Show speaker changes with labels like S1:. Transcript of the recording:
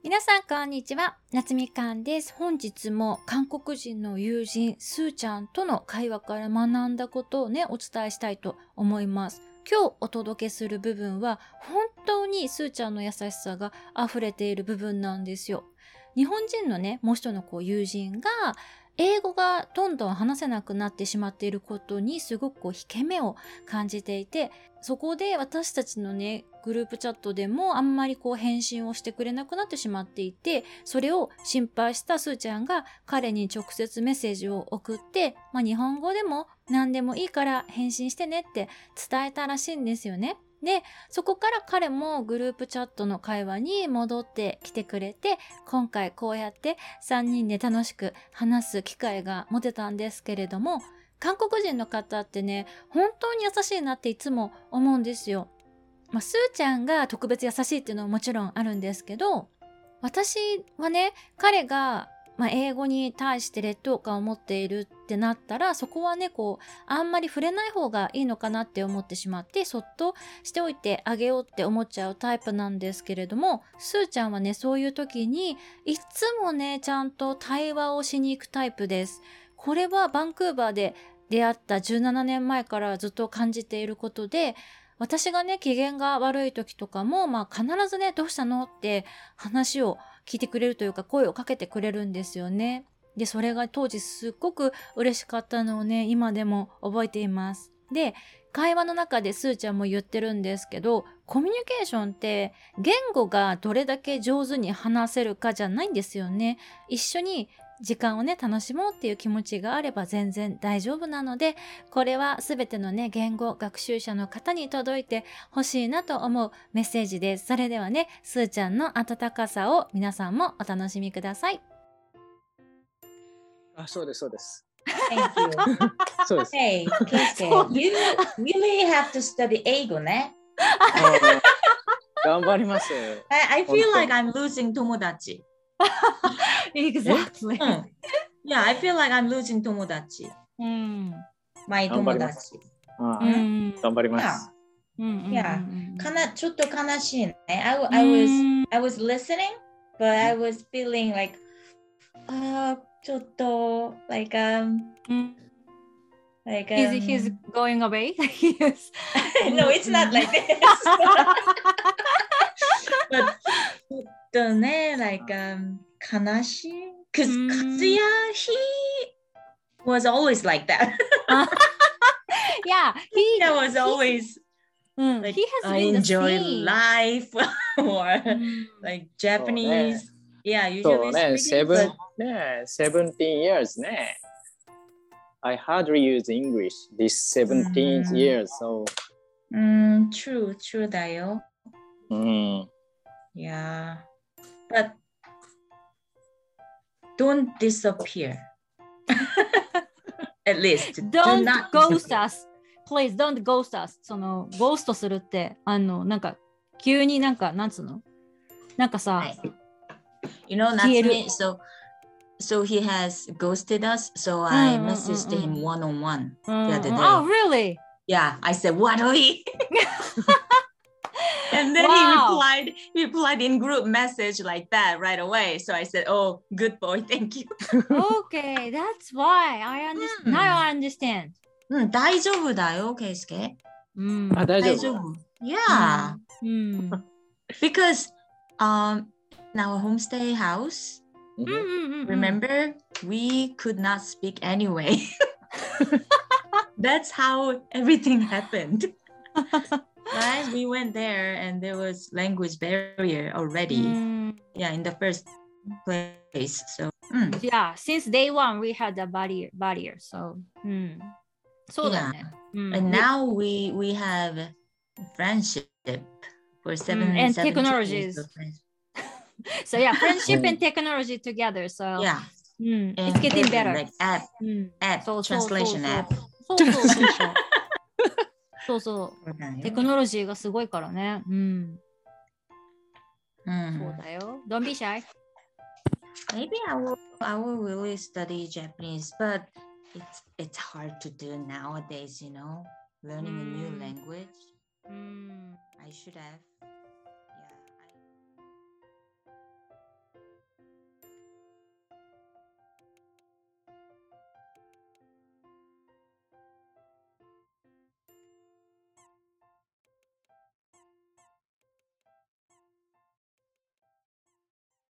S1: 皆さんこんにちは、夏みかんです。本日も韓国人の友人スーちゃんとの会話から学んだことをね、お伝えしたいと思います。今日お届けする部分は本当にスーちゃんの優しさが溢れている部分なんですよ。日本人のね、もう一人の友人が英語がどんどん話せなくなってしまっていることにすごく引け目を感じていて、そこで私たちのね、グループチャットでもあんまり返信をしてくれなくなってしまっていて、それを心配したスーちゃんが彼に直接メッセージを送って、日本語でも何でもいいから返信してねって伝えたらしいんですよね。で、そこから彼もグループチャットの会話に戻ってきてくれて、今回こうやって3人で楽しく話す機会が持てたんですけれども、韓国人の方ってね、本当に優しいなっていつも思うんですよ。スーちゃんが特別優しいっていうのはもちろんあるんですけど、私はね、彼が英語に対して劣等感を持っているってなったら、そこはね、あんまり触れない方がいいのかなって思ってしまって、そっとしておいてあげようって思っちゃうタイプなんですけれども、スーちゃんはね、そういう時に、いつもね、ちゃんと対話をしに行くタイプです。これはバンクーバーで出会った17年前からずっと感じていることで、私がね、機嫌が悪い時とかも、必ずね、どうしたのって話を聞いてくれるというか、声をかけてくれるんですよね。で、それが当時すっごく嬉しかったのをね、今でも覚えています。で、会話の中でスーちゃんも言ってるんですけど、コミュニケーションって言語がどれだけ上手に話せるかじゃないんですよね。一緒に時間をね、楽しもうっていう気持ちがあれば全然大丈夫なので、これはすべてのね、言語学習者の方に届いてほしいなと思うメッセージです。それではね、スーちゃんの温かさを皆さんもお楽しみください。
S2: そうです、そうです。
S3: Thank you.
S2: そうです。
S3: Hey, Keisuke, you really have to study 英語ね。
S2: 頑張ります。
S3: I feel like I'm losing 友達。
S1: Exactly.
S3: Yeah, I feel like I'm losing 友達。my 友達。
S2: 頑張ります。
S3: ちょっと悲しいね。I was listening, but I was feeling like, ちょっと、like,
S1: He's going away? Yes.
S3: No, it's not like this. But ちょっとね、like, 悲しい。Because Katsuya, he was always like that.
S1: Yeah,
S3: he was always like,
S1: he has
S3: I
S1: been
S3: enjoy
S1: the same.
S3: life or like Japanese. Yeah, usually speaking.
S2: 17 years ね。I hardly use English this 17 years, so.
S3: True だよ。Yeah, but don't disappear. At least.
S1: Don't ghost us. Please don't ghost us. ゴーストするって、急になんつうのさ、
S3: You know, Natsumi, so he has ghosted us, so I messaged him one-on-one the other day.
S1: Oh, really?
S3: Yeah, I said, what are we? And then he replied in group message like that right away. So I said, oh, good boy, thank you.
S1: Okay, that's why I understand. Now I understand.
S3: 大丈夫だよ、ケイスケ。
S2: 大丈夫。
S3: Yeah. Because in our homestay house, remember, we could not speak anyway. That's how everything happened. Right? We went there and there was language barrier already. Yeah, in the first place. So
S1: yeah, since day one we had a barrier. So そうだね。
S3: And now we have friendship for
S1: and technologies. So yeah, friendship and technology together. So
S3: yeah,
S1: it's getting better.
S3: Like app translation app.
S1: そうそう。テクノロジーがすごいからね。そうだよ。Don't be shy.
S3: Maybe I will really study Japanese, but it's hard to do nowadays, you know, learning a new language. I should have.